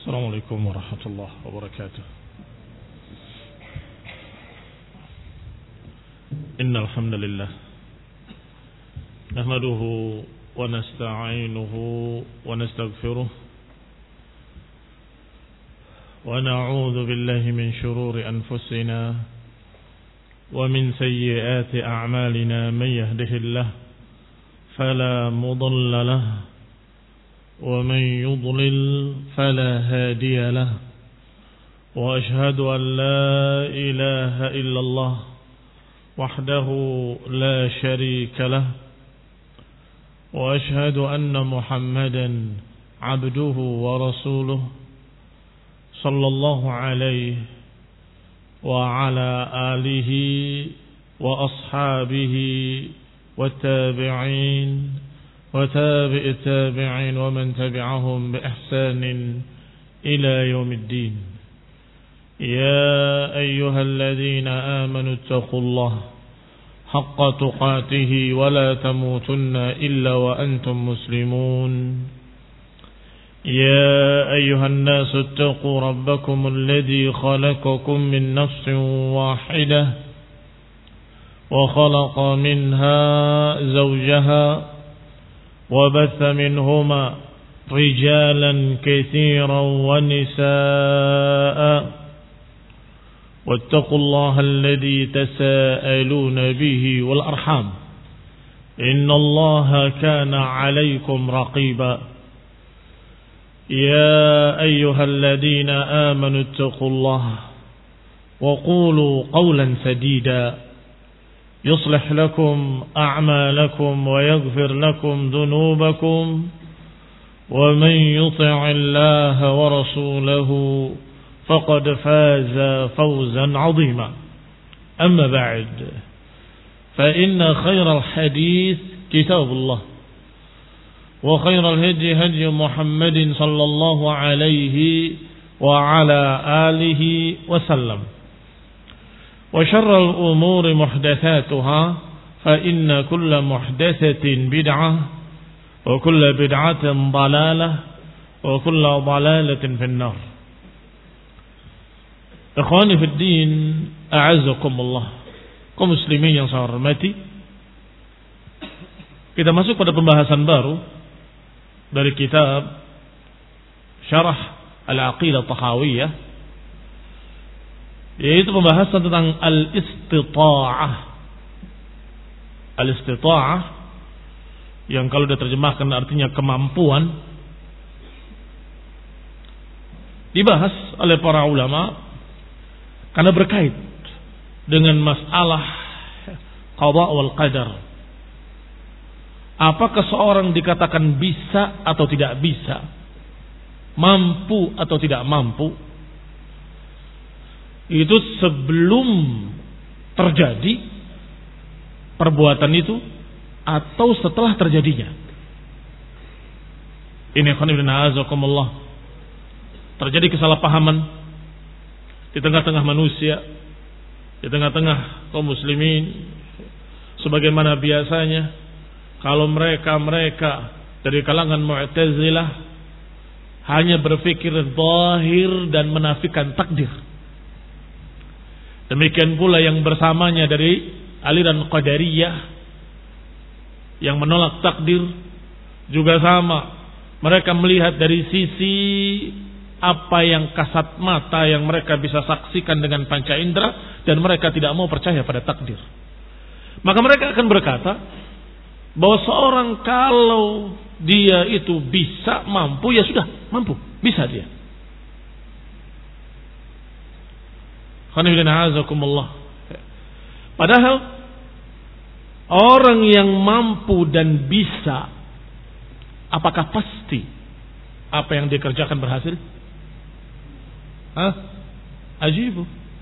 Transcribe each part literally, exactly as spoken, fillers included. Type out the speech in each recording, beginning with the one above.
Assalamualaikum warahmatullahi wabarakatuh. Innal hamdalillah nahmaduhu wa nasta'inuhu wa nastaghfiruh wa na'udzu billahi min shururi anfusina wa min sayyiati a'malina man yahdihillahu fala mudilla lahu ومن يضلل فلا هادي له وأشهد أن لا إله إلا الله وحده لا شريك له وأشهد أن محمدا عبده ورسوله صلى الله عليه وعلى آله وأصحابه والتابعين وتابع التابعين ومن تبعهم بإحسان إلى يوم الدين. يا أيها الذين آمنوا اتقوا الله حق تقاته ولا تموتن إلا وأنتم مسلمون. يا أيها الناس اتقوا ربكم الذي خلقكم من نفس واحدة وخلق منها زوجها وبث منهما رجالا كثيرا ونساء واتقوا الله الذي تساءلون به والأرحام إن الله كان عليكم رقيبا. يا أيها الذين آمنوا اتقوا الله وقولوا قولا سديدا يصلح لكم أعمالكم ويغفر لكم ذنوبكم ومن يطع الله ورسوله فقد فاز فوزا عظيما. أما بعد فإن خير الحديث كتاب الله وخير الهدي هدي محمد صلى الله عليه وعلى آله وسلم وشر الأمور محدثاتها فإن كل محدثة بدعة وكل بدعة ضلالة وكل ضلالة في النار. Ikhwani fi din, a'azzakumullah. Kaum muslimin yang saya hormati, kita masuk pada pembahasan baru dari kitab Syarah Al-Aqidah Tahawiyah, yaitu pembahasan tentang al-istita'ah. Al-istita'ah yang kalau diterjemahkan artinya kemampuan, dibahas oleh para ulama karena berkait dengan masalah qada wal qadar. Apakah seorang dikatakan bisa atau tidak bisa, mampu atau tidak mampu, itu sebelum terjadi perbuatan itu atau setelah terjadinya. Ini khonibna azakumullah, terjadi kesalahpahaman di tengah-tengah manusia, di tengah-tengah kaum muslimin, sebagaimana biasanya kalau mereka-mereka dari kalangan Mu'tazilah hanya berpikir zahir dan menafikan takdir. Demikian pula yang bersamanya dari aliran Qadariyah yang menolak takdir juga sama. Mereka melihat dari sisi apa yang kasat mata yang mereka bisa saksikan dengan panca indera, dan mereka tidak mau percaya pada takdir. Maka mereka akan berkata bahwa seorang kalau dia itu bisa, mampu, ya sudah mampu, bisa dia. Padahal orang yang mampu dan bisa, apakah pasti apa yang dikerjakan berhasil? Hah? Ajibu.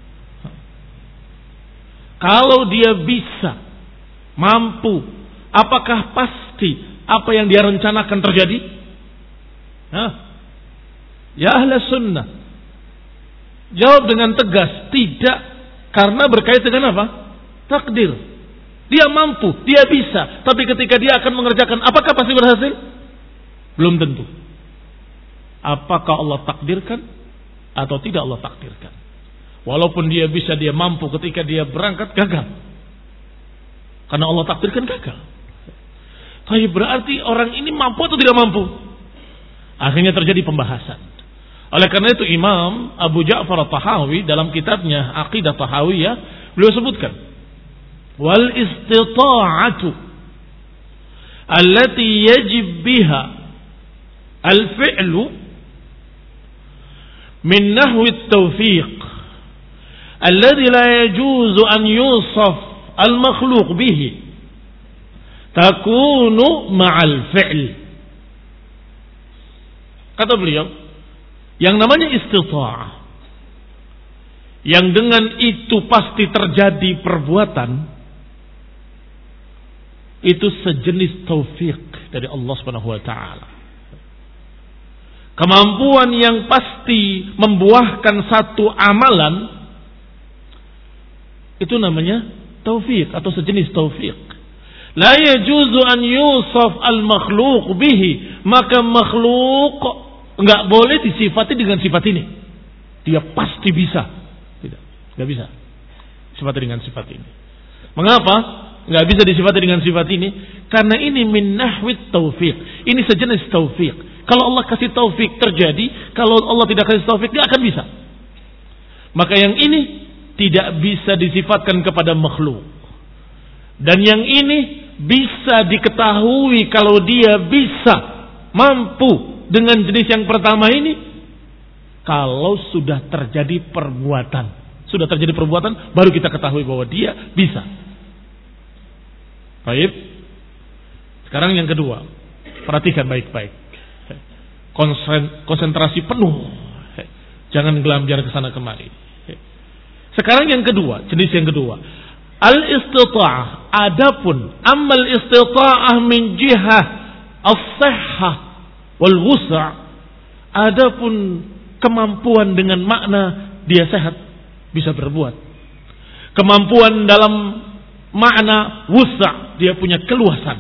Kalau dia bisa, mampu, apakah pasti apa yang dia rencanakan terjadi? Hah? Ya ahla sunnah, jawab dengan tegas, tidak, karena berkait dengan apa? Takdir. Dia mampu, dia bisa, tapi ketika dia akan mengerjakan, apakah pasti berhasil? Belum tentu. apakah Allah takdirkan atau tidak Allah takdirkan. Walaupun dia bisa, dia mampu ketika dia berangkat gagal. Karena Allah takdirkan gagal. Tapi berarti orang ini mampu atau tidak mampu? Akhirnya terjadi pembahasan. Oleh karena itu Imam Abu Ja'far At-Tahawi dalam kitabnya Aqidah Tahawiyah, beliau sebutkan, wal istita'atu allati yajib biha al-fi'lu min nahwi at-tawfiq alladhi la yajuzu an yusaf al-makhluq bihi takunu ma'al fi'l. Kata beliau, yang namanya istita'ah, yang dengan itu pasti terjadi perbuatan, itu sejenis taufik dari Allah Subhanahu wa taala. Kemampuan yang pasti membuahkan satu amalan, itu namanya taufik atau sejenis taufik. La yajuzu an yusaf al-makhluq bihi, maka makhluk enggak boleh disifati dengan sifat ini. Dia pasti bisa. Tidak, enggak bisa disifati dengan sifat ini. Mengapa enggak bisa disifati dengan sifat ini? Karena ini min nahwit taufik. Ini sejenis taufik. Kalau Allah kasih taufik terjadi, kalau Allah tidak kasih taufik dia akan bisa. Maka yang ini tidak bisa disifatkan kepada makhluk. Dan yang ini bisa diketahui kalau dia bisa, mampu dengan jenis yang pertama ini, kalau sudah terjadi perbuatan. Sudah terjadi perbuatan, baru kita ketahui bahwa dia bisa. Baik. Sekarang yang kedua, perhatikan baik-baik. Konsentrasi penuh. Jangan gelamjar ke sana kemari. Sekarang yang kedua, jenis yang kedua, al-istita'ah. Adapun amal istita'ah min jihah as-sihhah wal wus'. Adapun kemampuan dengan makna dia sehat, bisa berbuat. Kemampuan dalam makna wus', dia punya keluasan.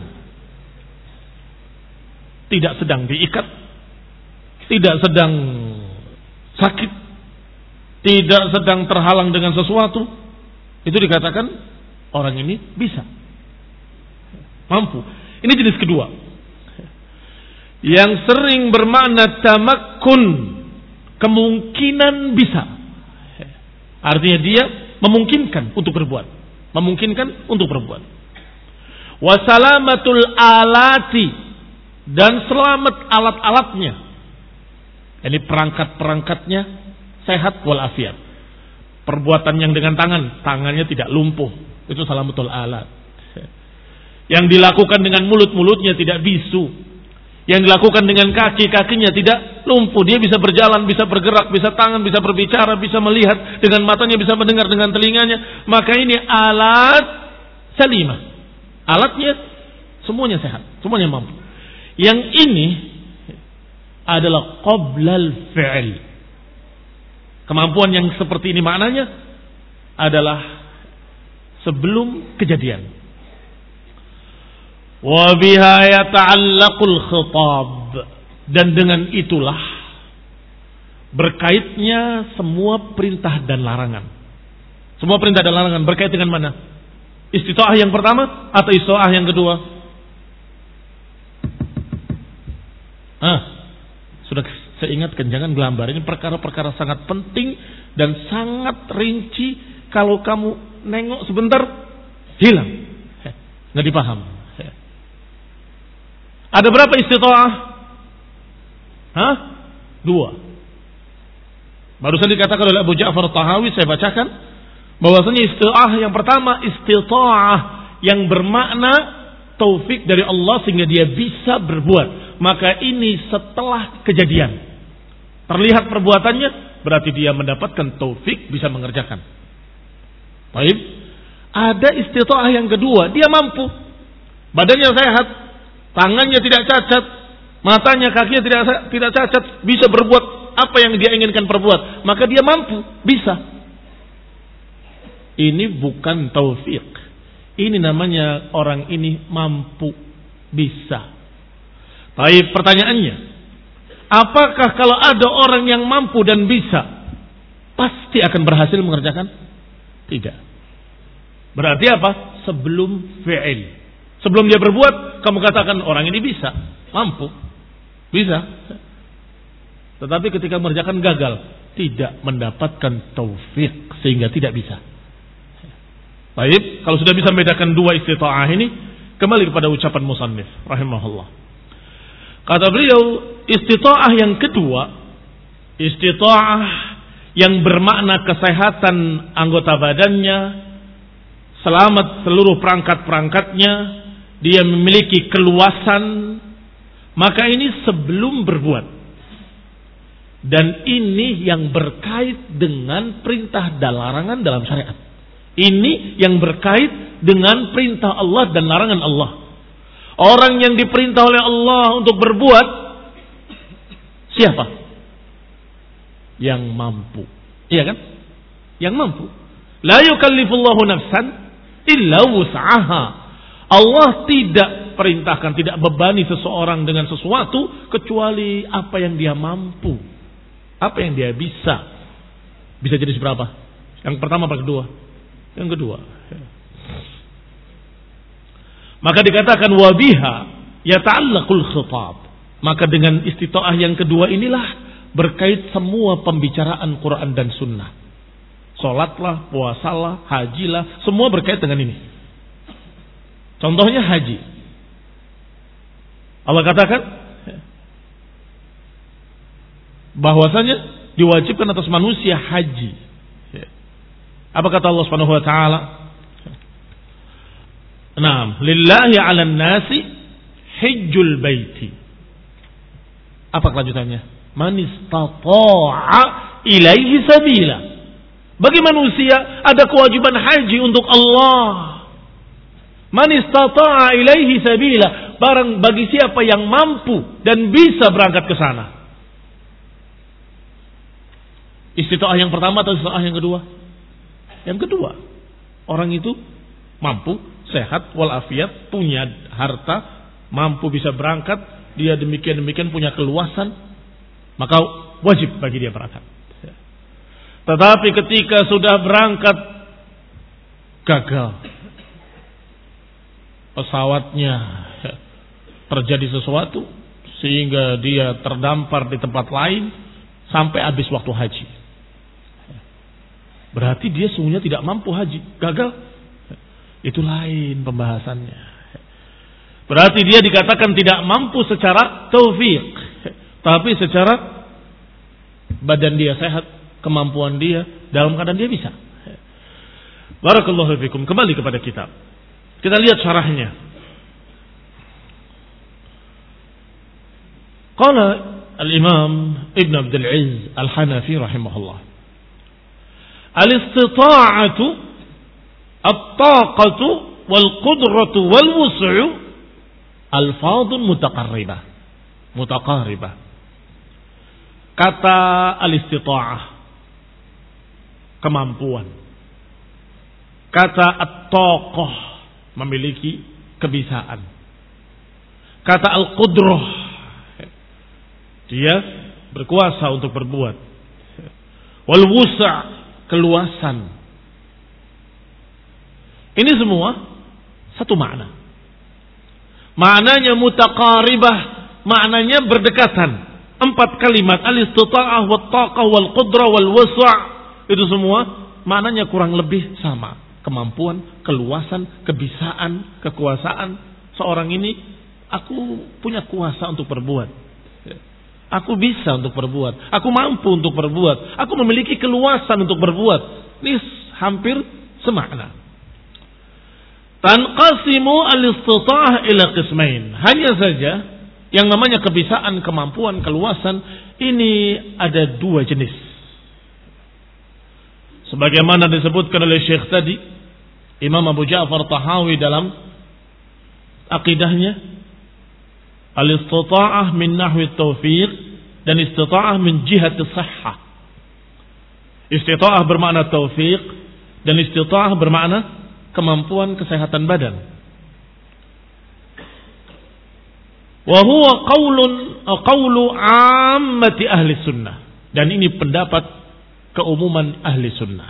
Tidak sedang diikat, tidak sedang sakit, tidak sedang terhalang dengan sesuatu. Itu dikatakan orang ini bisa, mampu. Ini jenis kedua, yang sering bermakna tamakkun, kemungkinan bisa. Artinya dia memungkinkan untuk berbuat, memungkinkan untuk berbuat. Wasalamatul alati, dan selamat alat-alatnya. Ini perangkat-perangkatnya sehat walafiat. Perbuatan yang dengan tangan, tangannya tidak lumpuh, itu salamatul alat. Yang dilakukan dengan mulut-mulutnya tidak bisu. Yang dilakukan dengan kaki, kakinya tidak lumpuh. Dia bisa berjalan, bisa bergerak, bisa tangan, bisa berbicara, bisa melihat dengan matanya, bisa mendengar dengan telinganya. Maka ini alat salimah. Alatnya semuanya sehat, semuanya mampu. Yang ini adalah qoblal fi'l. Kemampuan yang seperti ini maknanya adalah sebelum kejadian. Wa biha yata'allaqul khitab, dan dengan itulah berkaitnya semua perintah dan larangan. Semua perintah dan larangan berkait dengan mana? Istita'ah yang pertama atau istita'ah yang kedua? Ah, sudah saya ingatkan, jangan gelambar. Ini perkara-perkara sangat penting dan sangat rinci. Kalau kamu nengok sebentar, hilang, nggak dipaham. Ada berapa istita'ah? Hah? Dua. Barusan dikatakan oleh Abu Ja'far At-Tahawi, saya bacakan, bahwasanya istita'ah yang pertama, istita'ah yang bermakna taufik dari Allah sehingga dia bisa berbuat. Maka ini setelah kejadian terlihat perbuatannya, berarti dia mendapatkan taufik bisa mengerjakan. Baik. Ada istita'ah yang kedua, dia mampu, badannya sehat, tangannya tidak cacat, matanya, kakinya tidak tidak cacat, bisa berbuat apa yang dia inginkan perbuat, maka dia mampu, bisa. Ini bukan taufik. Ini namanya orang ini mampu, bisa. Baik, pertanyaannya, Apakah kalau ada orang yang mampu dan bisa, pasti akan berhasil mengerjakan? Tidak. Berarti apa? Sebelum fi'il. Sebelum dia berbuat, kamu katakan orang ini bisa, mampu, bisa. Tetapi ketika mengerjakan gagal, tidak mendapatkan taufik sehingga tidak bisa. Baik, kalau sudah bisa membedakan dua istita'ah ini, kembali kepada ucapan musannif rahimahullah. Kata beliau, istita'ah yang kedua, istita'ah yang bermakna kesehatan anggota badannya, selamat seluruh perangkat-perangkatnya, dia memiliki keluasan, maka ini sebelum berbuat. Dan ini yang berkait dengan perintah dan larangan dalam syariat. Ini yang berkait dengan perintah Allah dan larangan Allah. Orang yang diperintah oleh Allah untuk berbuat, siapa? Yang mampu. Iya kan? Yang mampu. La yukallifullahu nafsan illa wus'aha. Allah tidak perintahkan, tidak bebani seseorang dengan sesuatu kecuali apa yang dia mampu. Apa yang dia bisa. Bisa jadi seberapa? Yang pertama apa kedua? Yang kedua. Maka dikatakan wabiha yata'allaqul khitab. Maka dengan istita'ah yang kedua inilah berkait semua pembicaraan Quran dan Sunnah. Salatlah, puasalah, hajilah, semua berkait dengan ini. Contohnya haji. Allah katakan bahwasanya diwajibkan atas manusia haji. Apa kata Allah Subhanahu wa taala? Naam, lillahi 'alan nasi hajjul baiti. Apa kelanjutannya? Man istata'a ilaihi sabila. Bagi manusia ada kewajiban haji untuk Allah. Man istata'a ilaihi sabila, barang bagi siapa yang mampu dan bisa berangkat ke sana. Istita'ah yang pertama atau istita'ah yang kedua? Yang kedua. Orang itu mampu, sehat, walafiat, punya harta, mampu bisa berangkat, dia demikian-demikian punya keluasan, maka wajib bagi dia berangkat. Tetapi ketika sudah berangkat, gagal. Pesawatnya terjadi sesuatu, sehingga dia terdampar di tempat lain, sampai habis waktu haji. Berarti dia sungguhnya tidak mampu haji. Gagal. Itu lain pembahasannya. Berarti dia dikatakan tidak mampu secara taufik. Tapi secara badan dia sehat. Kemampuan dia. Dalam keadaan dia bisa. Barakallahu fikum. Kembali kepada kitab. Kita lihat syarahnya. Qala al-imam Ibn Abdul Aziz al-Hanafi rahimahullah. Al-istita'atu at-taqatu wal-qudratu wal-wus'u alfadun mutaqarribah. Mutaqarribah. Kata al-istita'ah, kemampuan. Kata at-taqah, memiliki kebisaan. Kata al-qudrah, dia berkuasa untuk berbuat. Wal-wus' keluasan. Ini semua satu makna. Maknanya mutaqaribah, maknanya berdekatan. Empat kalimat al-istita'ah wat-taqah wal-qudrah wal-wus', itu semua maknanya kurang lebih sama. Kemampuan, keluasan, kebisaan, kekuasaan. Seorang ini, aku punya kuasa untuk berbuat. Aku bisa untuk berbuat. Aku mampu untuk berbuat. Aku memiliki keluasan untuk berbuat. Ini hampir semakna. Tanqasimu al-istita'ah ila qismain. Hanya saja yang namanya kebisaan, kemampuan, keluasan ini ada dua jenis. Sebagaimana disebutkan oleh Syekh tadi, Imam Abu Ja'far Tahawi dalam akidahnya, al-istita'ah min nahwi taufiq dan istita'ah min jihati sahhah. Istita'ah bermakna taufiq dan istita'ah bermakna kemampuan kesehatan badan. Wa huwa qaulun qawlu ammati ahli sunnah. Dan ini pendapat keumuman ahli sunnah.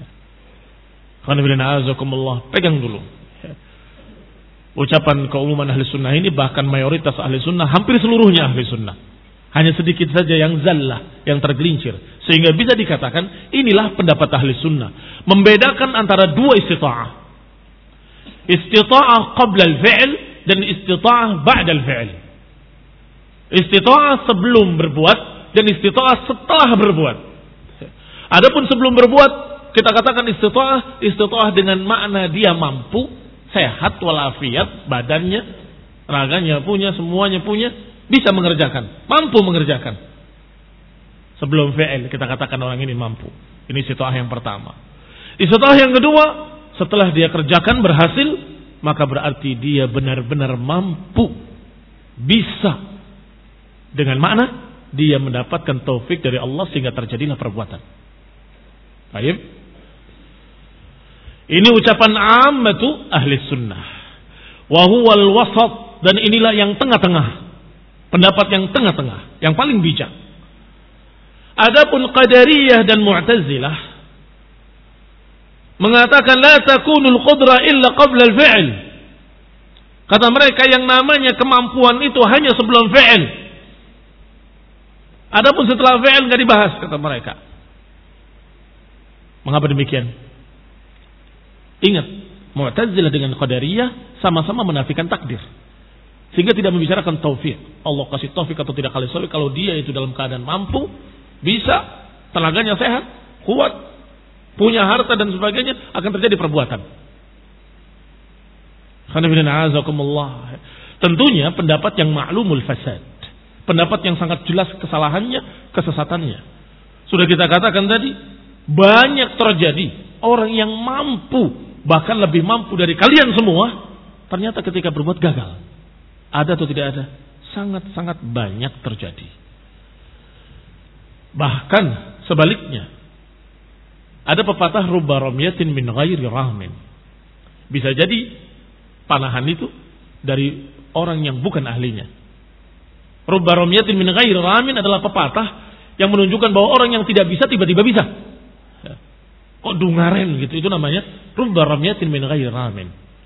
Pegang dulu. Ucapan keumuman ahli sunnah ini bahkan mayoritas ahli sunnah, hampir seluruhnya ahli sunnah. Hanya sedikit saja yang zallah, yang tergelincir. Sehingga bisa dikatakan inilah pendapat ahli sunnah. Membedakan antara dua istita'ah. Istita'ah qabla al-fi'l dan istita'ah ba'da al-fi'l. Istita'ah sebelum berbuat dan istita'ah setelah berbuat. Adapun sebelum berbuat, kita katakan istita'ah, istita'ah dengan makna dia mampu, sehat walafiat, badannya, raganya punya, semuanya punya, bisa mengerjakan, mampu mengerjakan. Sebelum fi'il kita katakan orang ini mampu. Ini istita'ah yang pertama. Istita'ah yang kedua, setelah dia kerjakan berhasil, maka berarti dia benar-benar mampu, bisa. Dengan makna dia mendapatkan taufik dari Allah sehingga terjadilah perbuatan. Baik. Ini ucapan ammatu ahli sunnah. Wa huwal wasat, dan inilah yang tengah-tengah. Pendapat yang tengah-tengah, yang paling bijak. Adapun Qadariyah dan Mu'tazilah mengatakan la takunul qudrah illa qabla al-fi'l. Kata mereka yang namanya kemampuan itu hanya sebelum fi'il. Adapun setelah fi'il enggak dibahas, kata mereka. Mengapa demikian? Ingat, Mu'tazilah dengan Qadariyah sama-sama menafikan takdir. Sehingga tidak membicarakan taufik. Allah kasih taufik atau tidak kali taufik kalau dia itu dalam keadaan mampu, bisa, tenaganya sehat, kuat, punya harta dan sebagainya, akan terjadi perbuatan. Tentunya pendapat yang ma'lumul fasad. Pendapat yang sangat jelas kesalahannya, kesesatannya. Sudah kita katakan tadi, banyak terjadi orang yang mampu, bahkan lebih mampu dari kalian semua, ternyata ketika berbuat gagal. Ada atau tidak ada? Sangat-sangat banyak terjadi. Bahkan sebaliknya, ada pepatah rubba ramyatin min ghairi rahmin. Bisa jadi panahan itu dari orang yang bukan ahlinya. Rubba ramyatin min ghairi rahmin adalah pepatah yang menunjukkan bahwa orang yang tidak bisa tiba-tiba bisa. Kok dungaren gitu, itu namanya rubba ramyatin min ghairi rahmin.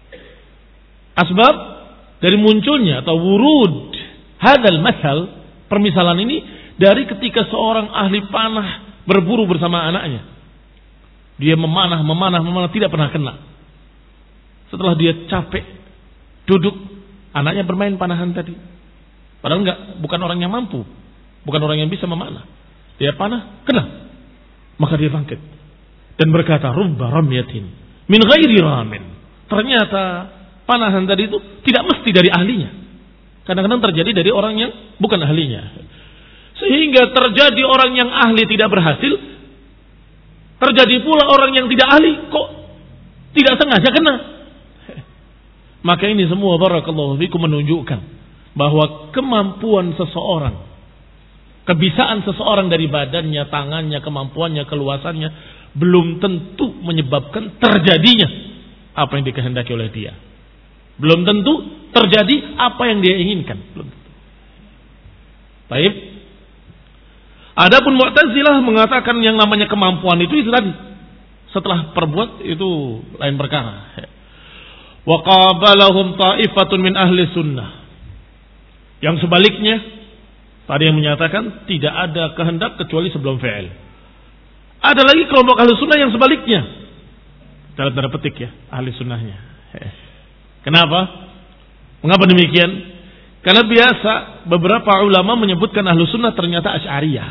Asbab dari munculnya atau wurud hadal masal, permisalan ini dari ketika seorang ahli panah berburu bersama anaknya. Dia memanah, memanah, memanah, tidak pernah kena. Setelah dia capek duduk, anaknya bermain panahan tadi. Padahal enggak, bukan orang yang mampu, bukan orang yang bisa memanah. Dia panah, kena. Maka dia bangkit dan berkata, rubba ramyatin min ghairi ramin. Ternyata panahan tadi itu tidak mesti dari ahlinya. Kadang-kadang terjadi dari orang yang bukan ahlinya. Sehingga terjadi orang yang ahli tidak berhasil, terjadi pula orang yang tidak ahli kok tidak sengaja kena. Maka ini semua barakallahu fikum menunjukkan bahwa kemampuan seseorang, kebisaan seseorang dari badannya, tangannya, kemampuannya, keluasannya belum tentu menyebabkan terjadinya apa yang dikehendaki oleh dia. Belum tentu terjadi apa yang dia inginkan. Belum tentu. Baik. Adapun Mu'tazilah mengatakan yang namanya kemampuan itu itu tadi. Setelah perbuat itu lain perkara. Wa qabalahum ta'ifatun min ahli sunnah. Yang sebaliknya, tadi yang menyatakan tidak ada kehendak kecuali sebelum fi'il. Ada lagi kelompok ahli sunnah yang sebaliknya. Dalam tanda petik ya, ahli sunnahnya. Kenapa? Mengapa demikian? Karena biasa beberapa ulama menyebutkan ahli sunnah ternyata Asy'ariyah.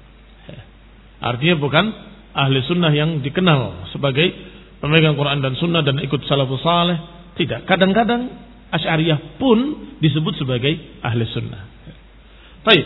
Artinya bukan ahli sunnah yang dikenal sebagai pemegang Quran dan sunnah dan ikut salafus saleh. Tidak. Kadang-kadang Asy'ariyah pun disebut sebagai ahli sunnah. Baik.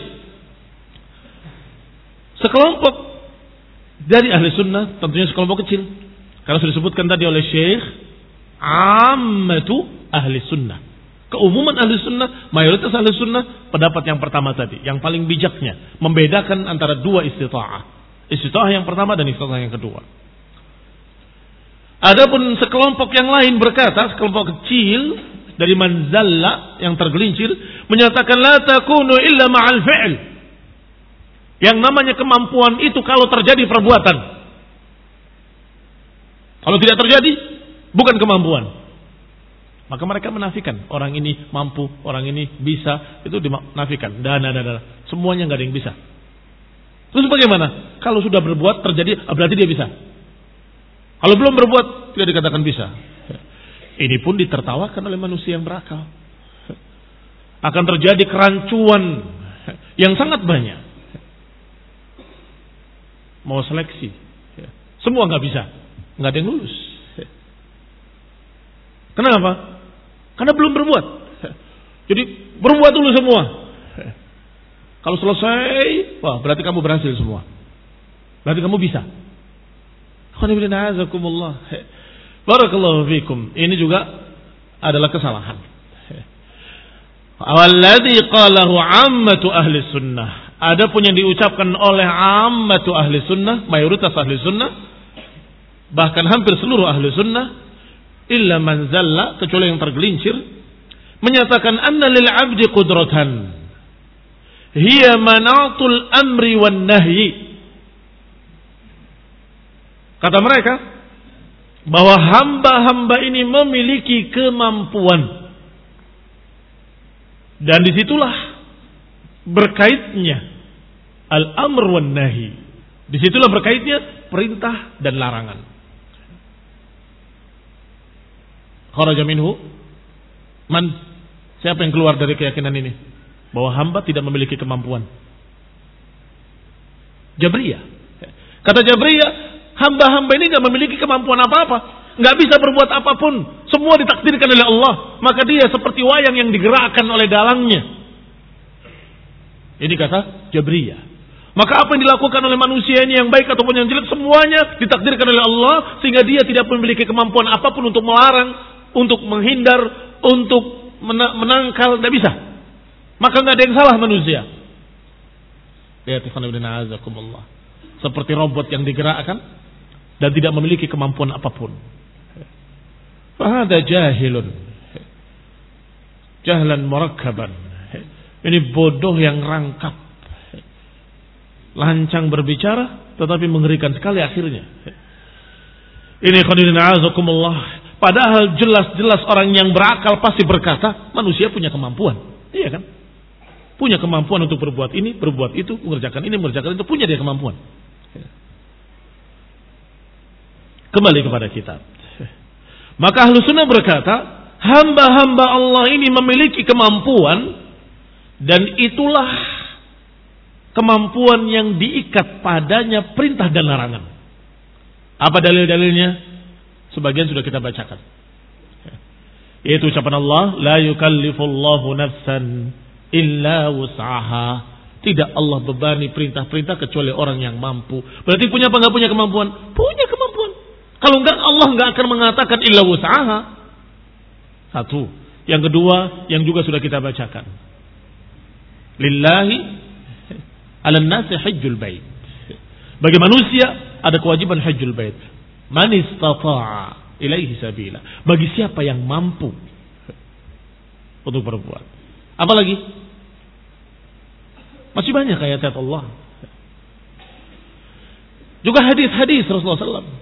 Sekelompok dari ahli sunnah, tentunya sekelompok kecil. Karena sudah disebutkan tadi oleh Syekh, ammatu ahli sunnah. Keumuman ahli sunnah, mayoritas ahli sunnah, pendapat yang pertama tadi, yang paling bijaknya, membedakan antara dua istita'ah. Istita'ah yang pertama dan istita'ah yang kedua. Adapun sekelompok yang lain berkata, sekelompok kecil dari manzalla yang tergelincir menyatakan la takunu illa ma'al fi'l. Yang namanya kemampuan itu kalau terjadi perbuatan. Kalau tidak terjadi bukan kemampuan. Maka mereka menafikan orang ini mampu, orang ini bisa, itu dinafikan. Dana dana semuanya enggak ada yang bisa. Terus bagaimana? Kalau sudah berbuat terjadi berarti dia bisa. Kalau belum berbuat tidak dikatakan bisa. Ini pun ditertawakan oleh manusia yang berakal. Akan terjadi kerancuan yang sangat banyak. Mau seleksi, semua nggak bisa, nggak ada yang lulus. Kenapa? Karena belum berbuat. Jadi berbuat dulu semua. Kalau selesai, wah berarti kamu berhasil semua. Berarti kamu bisa. Barakallahu fikum. Ini juga adalah kesalahan. Walladzi qalahu ammatu ahli sunnah. Adapun yang diucapkan oleh ammatu ahli sunnah, mayoritas ahli sunnah, bahkan hampir seluruh ahli sunnah, illa man zalla, kecuali yang tergelincir, menyatakan anna lil 'abdi qudratan hiya manatul amri wan nahyi. Kata mereka bahwa hamba-hamba ini memiliki kemampuan, dan disitulah berkaitnya al-amr wan nahi. Disitulah berkaitnya perintah dan larangan. Kharaja minhu man, siapa yang keluar dari keyakinan ini bahwa hamba tidak memiliki kemampuan? Jabriyah. Kata Jabriyah, hamba-hamba ini tidak memiliki kemampuan apa-apa, nggak bisa berbuat apapun, semua ditakdirkan oleh Allah, maka dia seperti wayang yang digerakkan oleh dalangnya. Ini kata Jabriyah. Maka apa yang dilakukan oleh manusia ini, yang baik ataupun yang jelek, semuanya ditakdirkan oleh Allah, sehingga dia tidak memiliki kemampuan apapun untuk melarang, untuk menghindar, untuk menangkal, tidak bisa. Maka nggak ada yang salah manusia. Lihat, seperti robot yang digerakkan dan tidak memiliki kemampuan apapun. Fahada jahilun, jahlan murakkaban. Ini bodoh yang rangkap, lancang berbicara tetapi mengerikan sekali akhirnya. Ini khadirin a'azakumullah. Padahal jelas-jelas orang yang berakal pasti berkata manusia punya kemampuan, iya kan? Punya kemampuan untuk berbuat ini, berbuat itu, mengerjakan ini, mengerjakan itu, punya dia kemampuan. Kembali kepada kitab. Maka Ahlus Sunnah berkata, hamba-hamba Allah ini memiliki kemampuan, dan itulah kemampuan yang diikat padanya perintah dan larangan. Apa dalil-dalilnya? Sebagian sudah kita bacakan. Yaitu ucapan Allah, la yukallifullahu nafsan illa wus'aha. Tidak Allah bebani perintah-perintah kecuali orang yang mampu. Berarti punya apa enggak punya kemampuan? Punya kemampuan. Kalau enggak, Allah enggak akan mengatakan illa wus'aha. Satu. Yang kedua, yang juga sudah kita bacakan. Lillahi 'alan nasi hajjul bait. Bagi manusia ada kewajiban hajjul bait. Man istata'a ilaihi sabila. Bagi siapa yang mampu untuk berbuat. Apalagi? Masih banyak ayat-ayat Allah. Juga hadis-hadis Rasulullah sallallahu alaihi wasallam.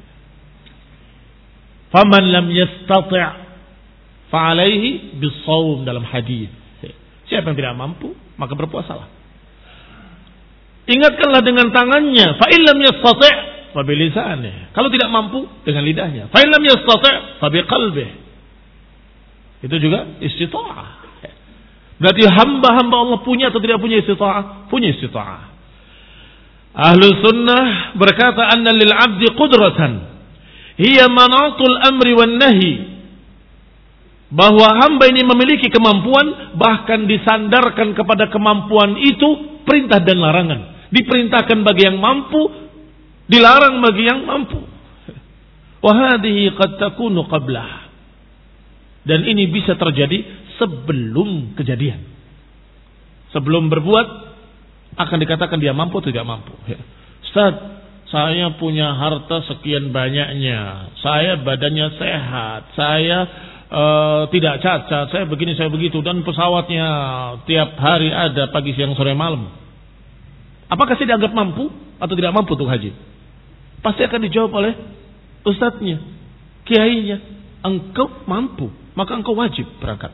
Faman lam yastati' fa'alaihi bis-shaum, dalam hadis. Siapa yang tidak mampu, maka berpuasalah. Ingatkanlah dengan tangannya. Fa in lam yastati' fa bi lisanihi. Kalau tidak mampu, dengan lidahnya. Fa in lam yastati' fa bi qalbihi. Itu juga istita'ah. Berarti hamba-hamba Allah punya atau tidak punya istita'ah? Punya istita'ah. Ahlus Sunnah berkata anna lil 'abdi qudratan hiya manatul amri wan nahi. Bahwa hamba ini memiliki kemampuan, bahkan disandarkan kepada kemampuan itu perintah dan larangan. Diperintahkan bagi yang mampu, dilarang bagi yang mampu. Wa hadhihi qad takunu qablah. Dan ini bisa terjadi sebelum kejadian. Sebelum berbuat akan dikatakan dia mampu atau tidak mampu. Ustaz, saya punya harta sekian banyaknya, saya badannya sehat, saya uh, tidak cacat, saya begini, saya begitu, dan pesawatnya tiap hari ada pagi, siang, sore, malam. Apakah saya dianggap mampu atau tidak mampu untuk haji? Pasti akan dijawab oleh ustadznya, kiainya. Engkau mampu, maka engkau wajib berangkat.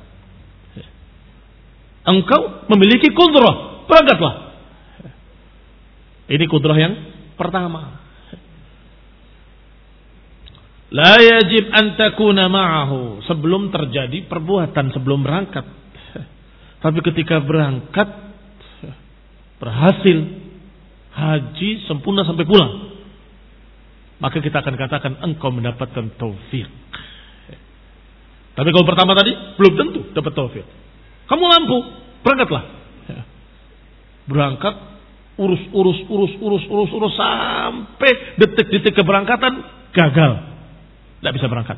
Engkau memiliki kudrah, berangkatlah. Ini kudrah yang pertama. La yajib an takuna ma'ahu, sebelum terjadi perbuatan, sebelum berangkat. Tapi ketika berangkat berhasil haji sempurna sampai pulang, maka kita akan katakan engkau mendapatkan taufik. Tapi kalau pertama tadi belum tentu dapat taufik. Kamu mampu, berangkatlah. Berangkat, urus, urus, urus, urus, urus, urus sampai detik-detik keberangkatan gagal. Tidak bisa berangkat.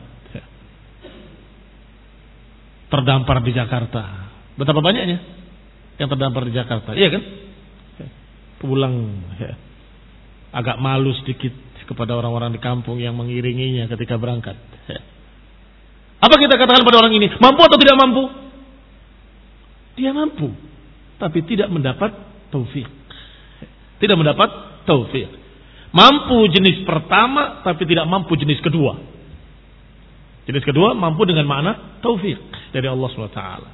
Terdampar di Jakarta. Betapa banyaknya yang terdampar di Jakarta. Iya kan? Pulang ya, agak malu sedikit kepada orang-orang di kampung yang mengiringinya ketika berangkat. Apa kita katakan pada orang ini? Mampu atau tidak mampu? Dia mampu, tapi tidak mendapat taufik. Tidak mendapat taufik. Mampu jenis pertama, tapi tidak mampu jenis kedua. Jenis kedua mampu dengan makna taufik dari Allah subhanahu wa taala.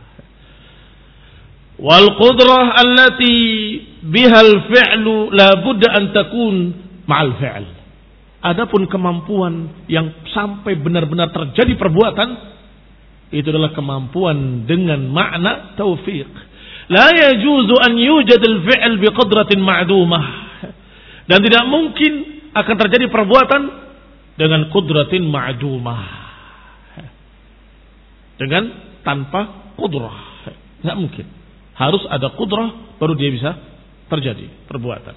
Wal qudrah allati bihal fi'lu la budda an takun ma'al fi'l. Adapun kemampuan yang sampai benar-benar terjadi perbuatan, itu adalah kemampuan dengan makna taufik. La yajuzu an yujad al-fi'l biqadratin ma'dumah. Dan tidak mungkin akan terjadi perbuatan dengan qudratin ma'dumah. Dengan tanpa qudrah. Tidak mungkin. Harus ada qudrah baru dia bisa terjadi perbuatan.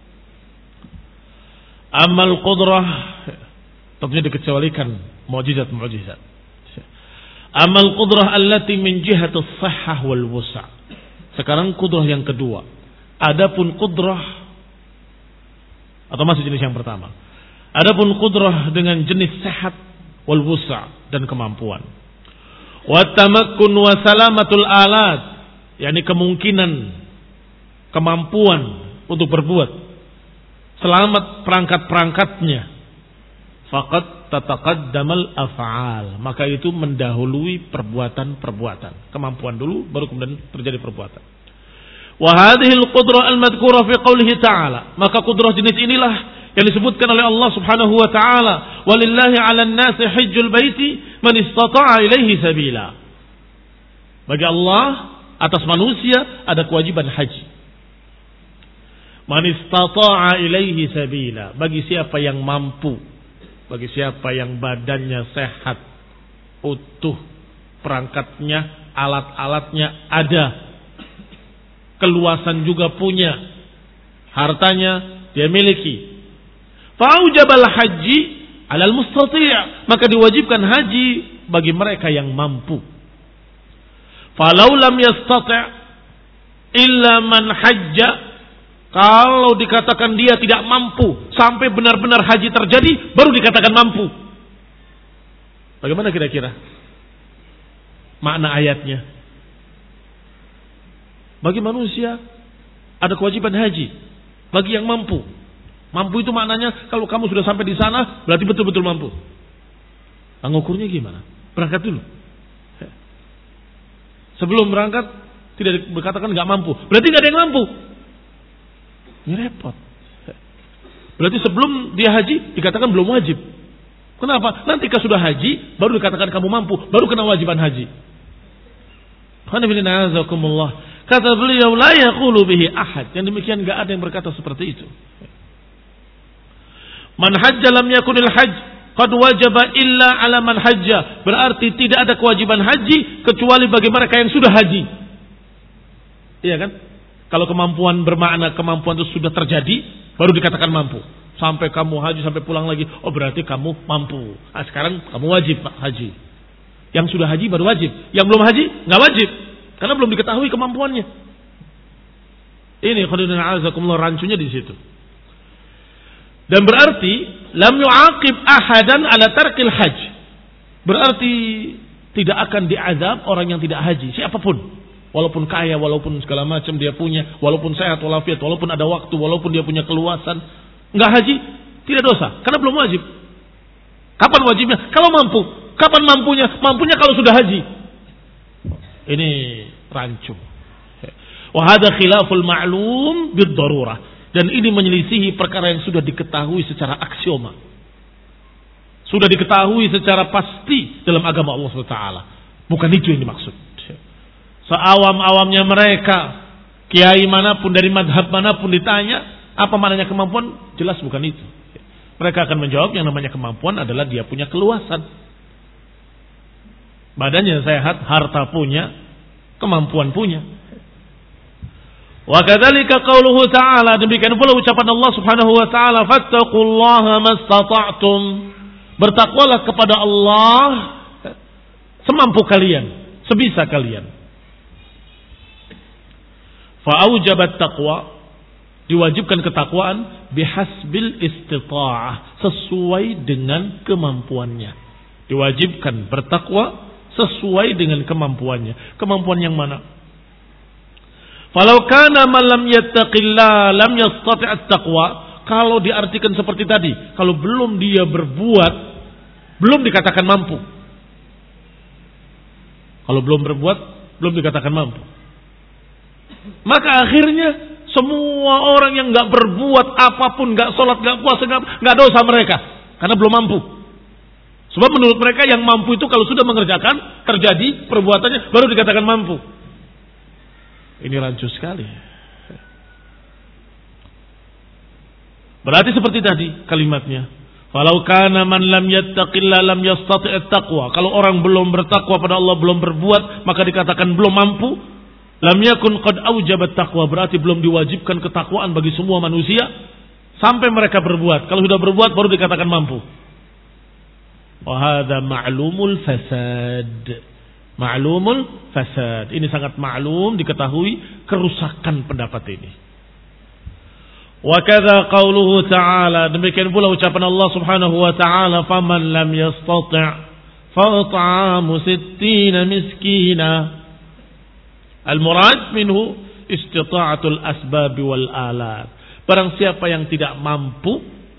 Amal qudrah tentunya dikecualikan mukjizat-mukjizat. Amal qudrah allati min jihati as-sihhah wal wusa'. Sekarang qudrah yang kedua. Adapun qudrah atau masih jenis yang pertama. Adapun qudrah dengan jenis sehat wal wusa' dan kemampuan. Wa tamakkun wa salamatul alat, yakni kemungkinan, kemampuan untuk berbuat, selamat perangkat-perangkatnya. Faqad tataqaddamal af'al, maka itu mendahului perbuatan-perbuatan. Kemampuan dulu baru kemudian terjadi perbuatan. Wa hadhil qudrah al-madhkura fi qoulihi ta'ala, maka qudrah jenis inilah yang disebutkan oleh Allah Subhanahu wa taala, walillahi 'alan nasi hajjul baiti man istata'a ilaihi sabila. Bagi Allah atas manusia ada kewajiban haji. Man istata'a ilaihi sabila, bagi siapa yang mampu, bagi siapa yang badannya sehat, utuh, perangkatnya, alat-alatnya ada, keluasan juga punya, hartanya dia miliki. Fa'ujabal haji 'alal mustati', maka diwajibkan haji bagi mereka yang mampu. Falau lam yastati' illa man hajja, kalau dikatakan dia tidak mampu sampai benar-benar haji terjadi baru dikatakan mampu. Bagaimana kira-kira makna ayatnya? Bagi manusia ada kewajiban haji bagi yang mampu. Mampu itu maknanya kalau kamu sudah sampai di sana berarti betul-betul mampu. Nah, ngukurnya gimana? Berangkat dulu. Sebelum berangkat tidak dikatakan nggak mampu, berarti nggak ada yang mampu. Ini repot. Berarti sebelum dia haji dikatakan belum wajib. Kenapa? Nanti kalau sudah haji baru dikatakan kamu mampu, baru kena wajiban haji. Kata beliau, la yaqulu bihi ahad. Yang demikian enggak ada yang berkata seperti itu. Man hajja lam yakunil hajj qad wajaba illa ala man hajja. Berarti tidak ada kewajiban haji kecuali bagi mereka yang sudah haji. Iya kan? Kalau kemampuan bermakna kemampuan itu sudah terjadi, baru dikatakan mampu. Sampai kamu haji sampai pulang lagi, oh berarti kamu mampu. Nah, sekarang kamu wajib haji. Yang sudah haji baru wajib. Yang belum haji nggak wajib, karena belum diketahui kemampuannya. Ini khairuddin a'azakumullah, rancunya di situ. Dan berarti lam yu'aqib ahadan ala tarkil hajj. Berarti tidak akan diazab orang yang tidak haji, siapapun. Walaupun kaya, walaupun segala macam dia punya, walaupun sehat walafiat, walaupun ada waktu, walaupun dia punya keluasan, enggak haji, tidak dosa, karena belum wajib. Kapan wajibnya? Kalau mampu. Kapan mampunya? Mampunya kalau sudah haji. Ini rancu. Wa hadza khilaful ma'lum bid-darurah. Dan ini menyelisihi perkara yang sudah diketahui secara aksioma. Sudah diketahui secara pasti dalam agama Allah subhanahu wa taala. Bukan itu yang dimaksud. Seawam-awamnya mereka, kiai manapun dari madhab manapun ditanya, apa maknanya kemampuan? Jelas bukan itu. Mereka akan menjawab yang namanya kemampuan adalah dia punya keluasan. Badannya sehat, harta punya, kemampuan punya. Wa kadzalika qauluhu ta'ala, demikian pula ucapan Allah Subhanahu wa taala, fattaqullaha mastata'tum. Bertakwalah kepada Allah semampu kalian, sebisa kalian. Fa'aujabat taqwa, diwajibkan ketakwaan bihasbil istita'ah, sesuai dengan kemampuannya. Diwajibkan bertakwa sesuai dengan kemampuannya. Kemampuan yang mana? Falau kana man lam yattaqillah lam yastati' at-taqwa. Kalau diartikan seperti tadi, kalau belum dia berbuat, belum dikatakan mampu. Kalau belum berbuat, belum dikatakan mampu. Maka akhirnya semua orang yang nggak berbuat apapun, nggak sholat, nggak puasa, nggak dosa mereka, karena belum mampu. Sebab menurut mereka yang mampu itu kalau sudah mengerjakan, terjadi perbuatannya, baru dikatakan mampu. Ini rancu sekali. Berarti seperti tadi kalimatnya. Falau kana man lam yattaqillah lam yastati' at-taqwa. Kalau orang belum bertakwa pada Allah, belum berbuat, maka dikatakan belum mampu. Lam yakun qad aujabat taqwa, berarti belum diwajibkan ketakwaan bagi semua manusia sampai mereka berbuat. Kalau sudah berbuat baru dikatakan mampu. Wa hadza ma'lumul fasad. Ma'lumul fasad. Ini sangat maklum, diketahui kerusakan pendapat ini. Wa kadza qauluhu ta'ala, demikian pula ucapan Allah Subhanahu wa taala, faman lam yastati' fa it'amu sittina miskina. Al-murad minhu istita'atul asbab wal alat. Barang siapa yang tidak mampu,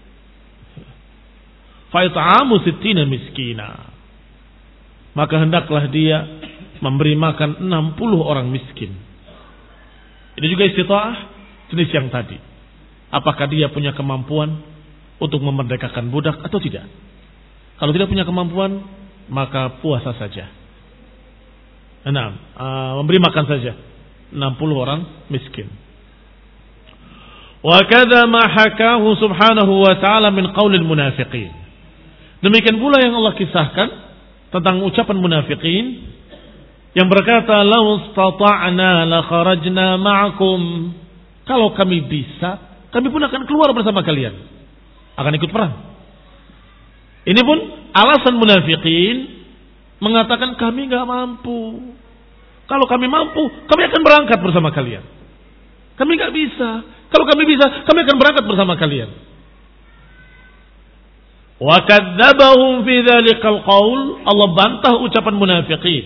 fa it'amu sittina miskina, maka hendaklah dia memberi makan enam puluh orang miskin. Ini juga istita'ah jenis yang tadi. Apakah dia punya kemampuan untuk memerdekakan budak atau tidak? Kalau tidak punya kemampuan, maka puasa saja. Enam, uh, memberi makan saja enam puluh orang miskin. Wa kadza ma hakahu subhanahu wa ta'ala min qaulil munafiqin. Demikian pula yang Allah kisahkan tentang ucapan munafikin yang berkata, "Law istata'na la kharajna ma'akum." Kalau kami bisa, kami pun akan keluar bersama kalian, akan ikut perang. Ini pun alasan munafikin mengatakan kami enggak mampu. Kalau kami mampu, kami akan berangkat bersama kalian. Kami enggak bisa. Kalau kami bisa, kami akan berangkat bersama kalian. Wa kadzdzabahum fi dzalikal qaul, Allah bantah ucapan munafikin.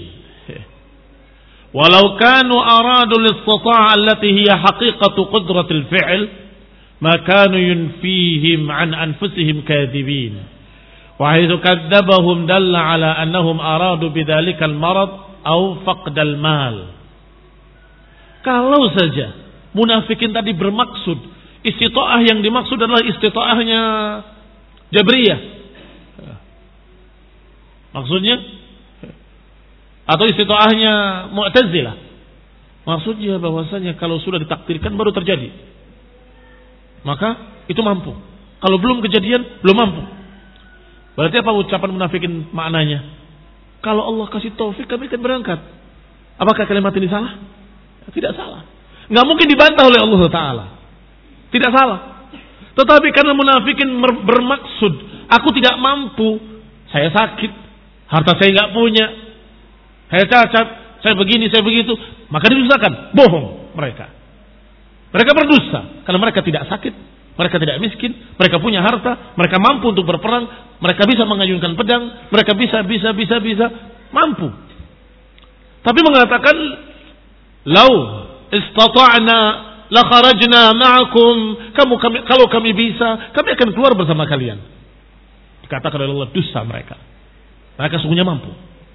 Walau kanu aradu al-istita'a allati hiya haqiqatu qudratil fi'l, ma kanu yunfihim an anfusihim kadhibin. Wa haitsu kadzdzabahum dalla ala annahum aradu bidzalikal marad aw faqdal mal. Kalau saja munafikin tadi bermaksud istita'ah yang dimaksud adalah istita'ahnya Jabriyah, maksudnya, atau istita'ahnya Mu'tazilah, maksudnya bahwasanya kalau sudah ditakdirkan baru terjadi, maka itu mampu. Kalau belum kejadian, belum mampu. Berarti apa ucapan munafikin maknanya? Kalau Allah kasih taufik, kami akan berangkat. Apakah kalimat ini salah? Tidak salah. Nggak mungkin dibantah oleh Allah Taala. Tidak salah. Tetapi karena munafikin bermaksud, aku tidak mampu, saya sakit, harta saya nggak punya, saya cacat, saya begini, saya begitu, maka didustakan. Bohong mereka. Mereka berdusta karena mereka tidak sakit, mereka tidak miskin, mereka punya harta, mereka mampu untuk berperang, mereka bisa mengayunkan pedang, mereka bisa, bisa, bisa, bisa. mampu. Tapi mengatakan, "Lau istata'na la kharajna ma'akum." Kamu kami, kalau kami bisa, kami akan keluar bersama kalian. Dikatakan oleh Allah, dusta mereka. Mereka sungguhnya mampu.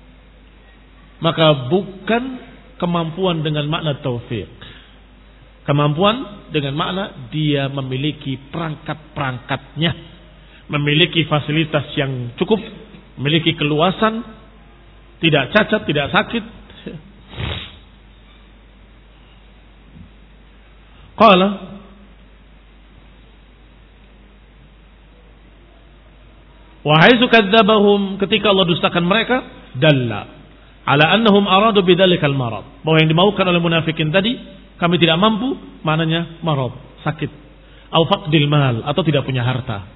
Maka bukan kemampuan dengan makna taufik. Kemampuan dengan makna dia memiliki perangkat-perangkatnya, memiliki fasilitas yang cukup, memiliki keluasan, tidak cacat, tidak sakit. Qala wa haitsu kadzdzabahum, ketika Allah dustakan mereka, dalla ala annahum aradu bidzalikal marad, bahwa yang dimaukan oleh munafikin tadi, kami tidak mampu, maknanya marad, sakit, au faqdil mal, atau tidak punya harta.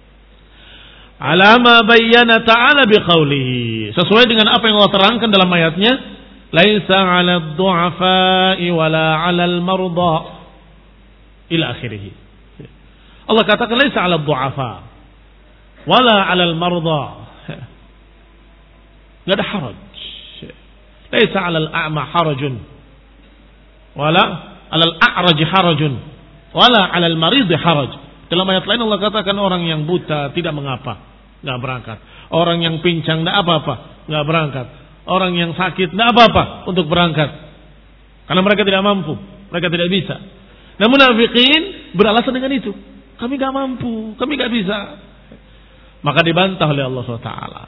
Ala ma bayyana ta'ala biqaulihi, sesuai dengan apa yang Allah terangkan dalam ayatnya, laisa 'alad du'afa'i wala 'alal marda ila akhirih. Allah katakan laisa 'alad du'afa wala 'alal marda, enggak ada haraj. Laisa 'alal a'ma harajun wala 'alal a'raj harajun wala 'alal marid haraj. Dalam ayat lain Allah katakan orang yang buta tidak mengapa, enggak berangkat. Orang yang pincang enggak apa-apa, enggak berangkat. Orang yang sakit enggak apa-apa untuk berangkat. Karena mereka tidak mampu, mereka tidak bisa. Namun munafikin beralasan dengan itu. Kami enggak mampu, kami enggak bisa. Maka dibantah oleh Allah subhanahu wa taala.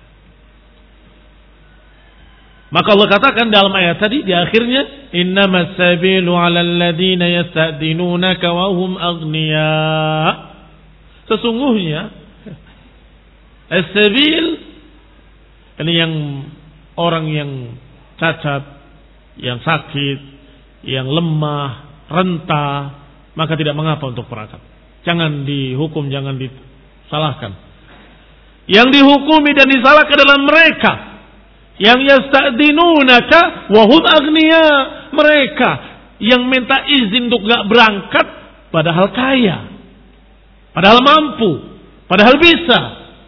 Maka Allah katakan dalam ayat tadi di akhirnya, innamas sabilu 'alal ladzina yasta'dinunaka wa hum aghniya. Sesungguhnya as-sabil ini yang orang yang cacat, yang sakit, yang lemah, renta, maka tidak mengapa untuk berangkat. Jangan dihukum, jangan disalahkan. Yang dihukumi dan disalahkan adalah mereka yang yasta'dinunaka wa hum aghniya, mereka yang minta izin untuk enggak berangkat padahal kaya, padahal mampu, padahal bisa.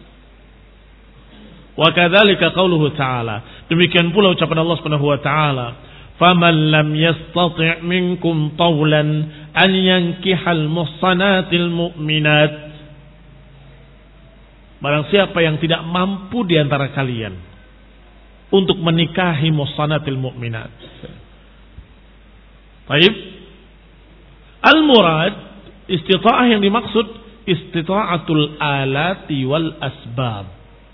Wa kadzalika qauluhu ta'ala, demikian pula ucapan Allah Subhanahu wa taala, faman lam yastati' minkum tawlan an yankihal muhsanatil mu'minat, barang siapa yang tidak mampu di antara kalian untuk menikahi muhsanatil mu'minat. Baik. Al-murad, istita'ah yang dimaksud istita'atul alati wal asbab.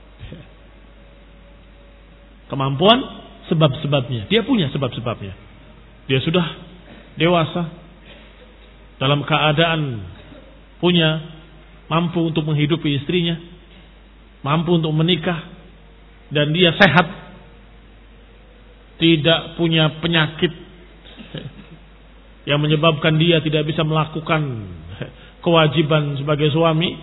Kemampuan, sebab-sebabnya. Dia punya sebab-sebabnya. Dia sudah dewasa, dalam keadaan punya, mampu untuk menghidupi istrinya, mampu untuk menikah, dan dia sehat, tidak punya penyakit yang menyebabkan dia tidak bisa melakukan kewajiban sebagai suami.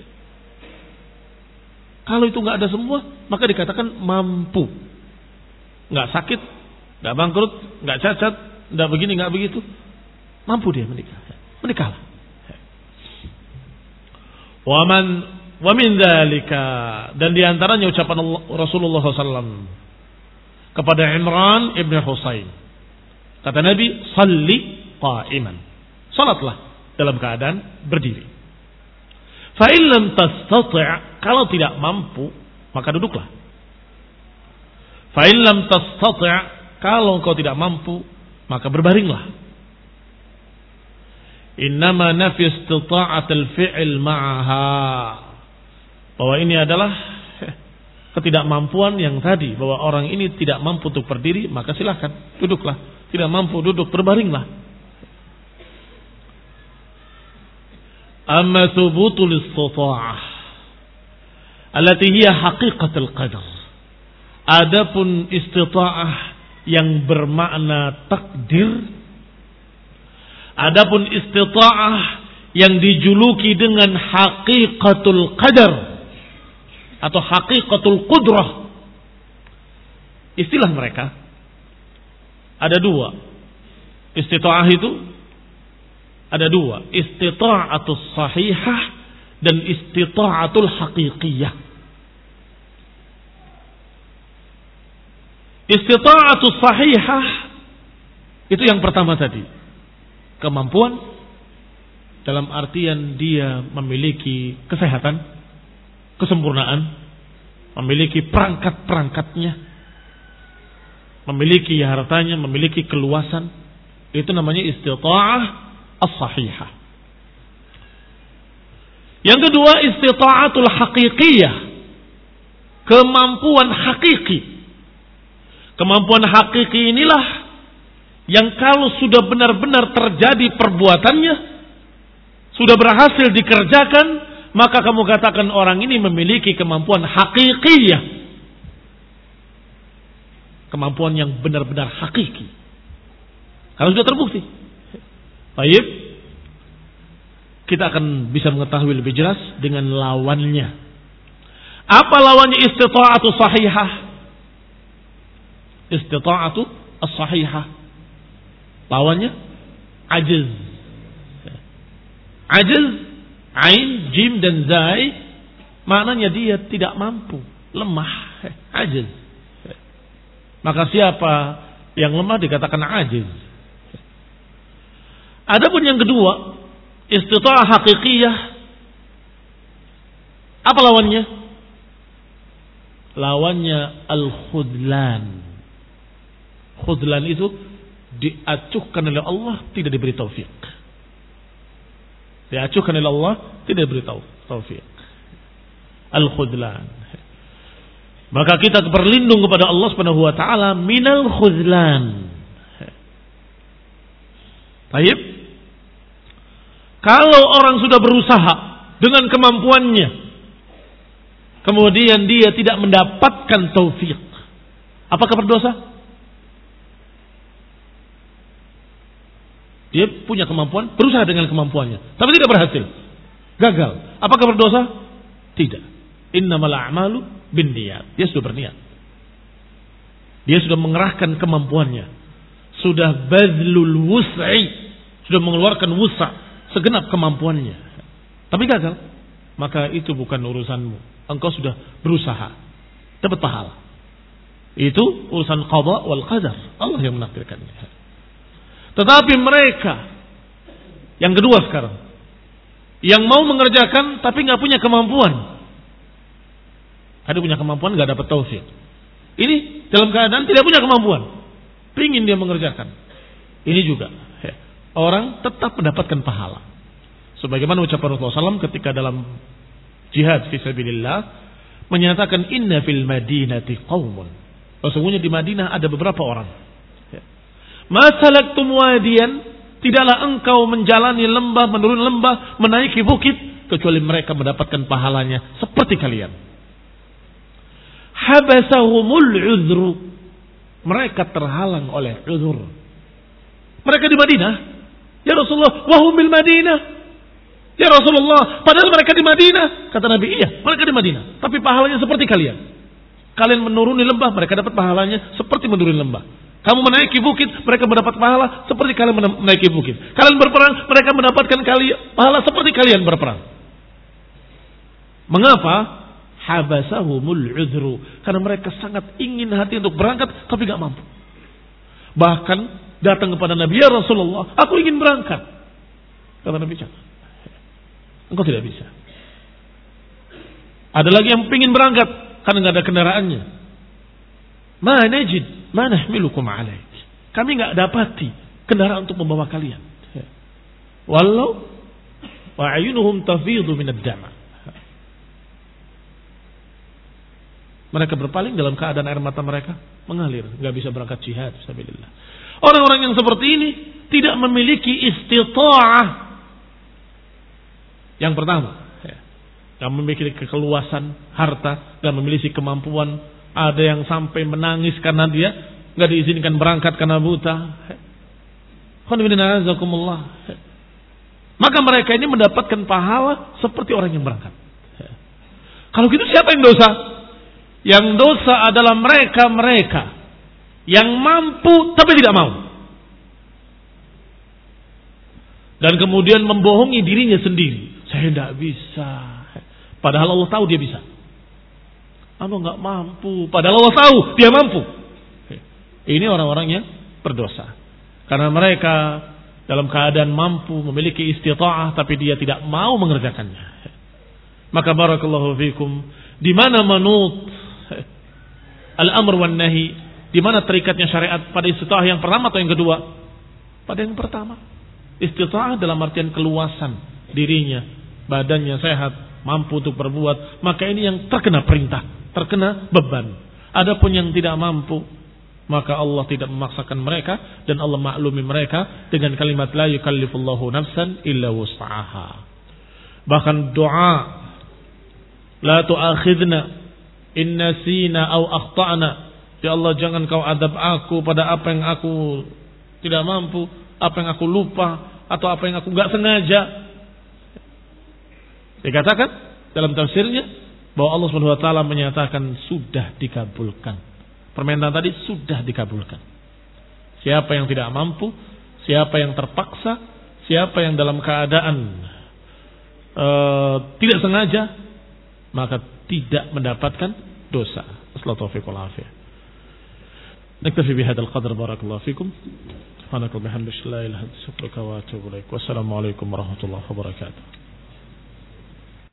Kalau itu nggak ada semua, maka dikatakan mampu, nggak sakit, nggak bangkrut, nggak cacat, nggak begini, nggak begitu, mampu dia menikah, menikahlah. Waman wamin dzalika, dan diantaranya ucapan Allah, Rasulullah shallallahu alaihi wasallam kepada Imran ibn Husain. Kata Nabi, salli qa'iman, salatlah dalam keadaan berdiri. Fa in lam tastati', kalau tidak mampu maka duduklah. Fa in lam tastati', kalau engkau tidak mampu maka berbaringlah. Innama nafi istita'atil fi'il ma'aha, bahwa ini adalah ketidakmampuan yang tadi, bahwa orang ini tidak mampu untuk berdiri, maka silahkan duduklah. Tidak mampu duduk, berbaringlah. Amma thubutul istita'ah allati hiya haqiqatul qadar, adapun istita'ah yang bermakna takdir, adapun istita'ah yang dijuluki dengan haqiqatul qadar atau haqiqatul qudrah, istilah mereka ada dua. Istita'ah itu ada dua, istita'atul sahihah dan istita'atul haqiqiyah. Istita'atu sahihah itu yang pertama tadi. Kemampuan dalam artian dia memiliki kesehatan, kesempurnaan, memiliki perangkat-perangkatnya, memiliki hartanya, memiliki keluasan. Itu namanya istita'ah as-sahihah. Yang kedua, istita'atul haqiqiyah. Kemampuan hakiki. Kemampuan hakiki inilah yang kalau sudah benar-benar terjadi perbuatannya, sudah berhasil dikerjakan, maka kamu katakan orang ini memiliki kemampuan hakikiyah. Kemampuan yang benar-benar hakiki. Kalau sudah terbukti. Baik. Kita akan bisa mengetahui lebih jelas dengan lawannya. Apa lawannya istita'atu sahihah? Istita'atu as-sahihah. Lawannya ajiz. Ajiz, ain, jim dan zai, maknanya dia tidak mampu, lemah, ajiz. Maka siapa yang lemah dikatakan ajiz. Adapun yang kedua, istita'ah hakikiyah. Apa lawannya? Lawannya al-khudlan. Khudlan itu diacuhkan oleh Allah, tidak diberi taufik. Diacuhkan oleh Allah, tidak diberi taufik. Al-khudlan. Maka kita berlindung kepada Allah Subhanahu wa taala minal khudlan. Baik. Kalau orang sudah berusaha dengan kemampuannya, kemudian dia tidak mendapatkan taufik, apakah berdosa? Dia punya kemampuan, berusaha dengan kemampuannya, tapi tidak berhasil, gagal. Apakah berdosa? Tidak. Innamal a'malu binniyat. Dia sudah berniat. Dia sudah mengerahkan kemampuannya, sudah bazlul wus'i, sudah mengeluarkan wus'a, segenap kemampuannya, tapi gagal. Maka itu bukan urusanmu. Engkau sudah berusaha, dapat pahala. Itu urusan qada wal qadar. Allah yang menakdirkannya. Tetapi mereka yang kedua sekarang, yang mau mengerjakan tapi nggak punya kemampuan. Ada punya kemampuan nggak dapat taufik. Ini dalam keadaan tidak punya kemampuan, pingin dia mengerjakan. Ini juga orang tetap mendapatkan pahala. Sebagaimana ucapan Rasulullah shallallahu alaihi wasallam ketika dalam jihad fisabilillah menyatakan inna fil madinati qaumun. Sesungguhnya di Madinah ada beberapa orang. Masalaktum wadiyan, tidaklah engkau menjalani lembah, menurun lembah, menaiki bukit, kecuali mereka mendapatkan pahalanya seperti kalian. Habasahumul uzru, mereka terhalang oleh uzur. Mereka di Madinah, ya Rasulullah, wahum bil Madinah, ya Rasulullah, padahal mereka di Madinah. Kata Nabi, iya, mereka di Madinah, tapi pahalanya seperti kalian. Kalian menuruni lembah, mereka dapat pahalanya seperti menuruni lembah. Kamu menaiki bukit, mereka mendapat pahala seperti kalian menaiki bukit. Kalian berperang, mereka mendapatkan kalian pahala seperti kalian berperang. Mengapa? Habasahumul uzru, karena mereka sangat ingin hati untuk berangkat tapi gak mampu. Bahkan datang kepada Nabi, ya Rasulullah, aku ingin berangkat. Kata Nabi, jangan, engkau tidak bisa. Ada lagi yang ingin berangkat karena gak ada kendaraannya. Ma najid, ma nahmilukum alaih. Kami gak dapati kendaraan untuk membawa kalian. Walau wa ayunuhum tafidhu minad dama. Mereka berpaling dalam keadaan air mata mereka mengalir, nggak bisa berangkat jihad fisabilillah. Orang-orang yang seperti ini tidak memiliki istita'ah. Yang pertama, yang memiliki kekeluasan harta dan memiliki kemampuan. Ada yang sampai menangis karena dia nggak diizinkan berangkat karena buta. Maka mereka ini mendapatkan pahala seperti orang yang berangkat. Kalau gitu siapa yang dosa? Yang dosa adalah mereka-mereka yang mampu tapi tidak mau. Dan kemudian membohongi dirinya sendiri. Saya tidak bisa. Padahal Allah tahu dia bisa. Anu nggak mampu. Padahal Allah tahu dia mampu. Ini orang-orang yang berdosa. Karena mereka dalam keadaan mampu, memiliki istita'ah, tapi dia tidak mau mengerjakannya. Maka barakallahu fikum, di mana manut al-amr wan nahi, di mana terikatnya syariat pada istita'ah yang pertama atau yang kedua? Pada yang pertama. Istita'ah dalam artian keluasan dirinya, badannya sehat, mampu untuk berbuat, maka ini yang terkena perintah, terkena beban. Adapun yang tidak mampu, maka Allah tidak memaksakan mereka dan Allah maklumi mereka dengan kalimat la yukallifullahu nafsan illa wus'aha. Bahkan doa la tu'akhidna in nasina aw akhtana, ya Allah jangan kau adab aku pada apa yang aku tidak mampu, apa yang aku lupa atau apa yang aku enggak sengaja. Dikatakan dalam tafsirnya bahwa Allah Subhanahu wa taala menyatakan sudah dikabulkan. Permintaan tadi sudah dikabulkan. Siapa yang tidak mampu, siapa yang terpaksa, siapa yang dalam keadaan uh, tidak sengaja, maka tidak mendapatkan dosa. Assalamualaikum warahmatullahi wabarakatuh. Naktafi bihadzal qadar, barakallahu fikum. Subhanaka wa bihamdika la ilaha illa anta astaghfiruka wa atubu ilaik. Wassalamu alaikum warahmatullahi wabarakatuh.